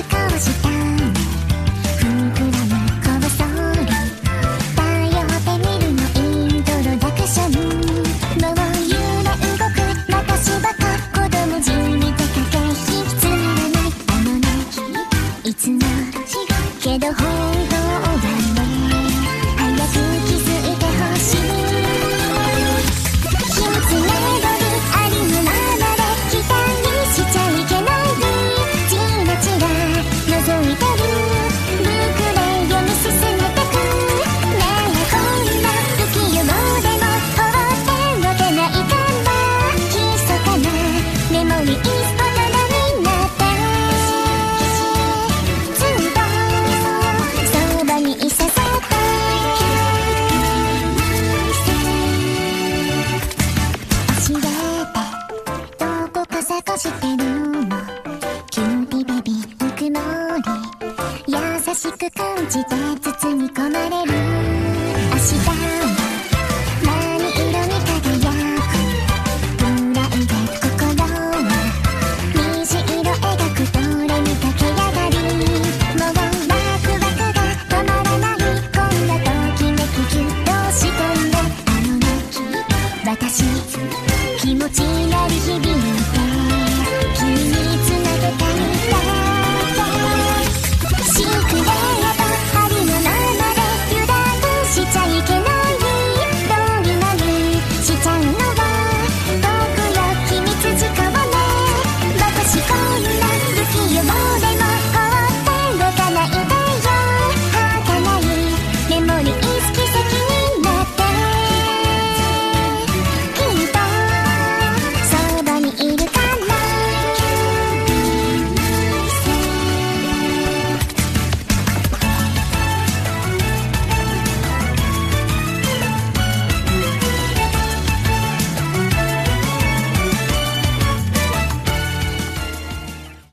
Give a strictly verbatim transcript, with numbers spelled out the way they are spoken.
顔したね。ふんくらむこぼそり頼ってみるのイントロダクション。もう揺れ動く私バカ子供じみて駆け引きつまらないあのねいつもけど本当だね。早く気づいてほしい。秘密メドルありのままで期待しちゃいけない。チラチラ覗いてるブックで読み進めてく。ねえこんな不器用でも放っておけないかな。密かなメモリースポットになってずっとそばにいさせたい。教えてどこか探してるの。キューティーベビーぬくもり優しく感じて包み込まれる。明日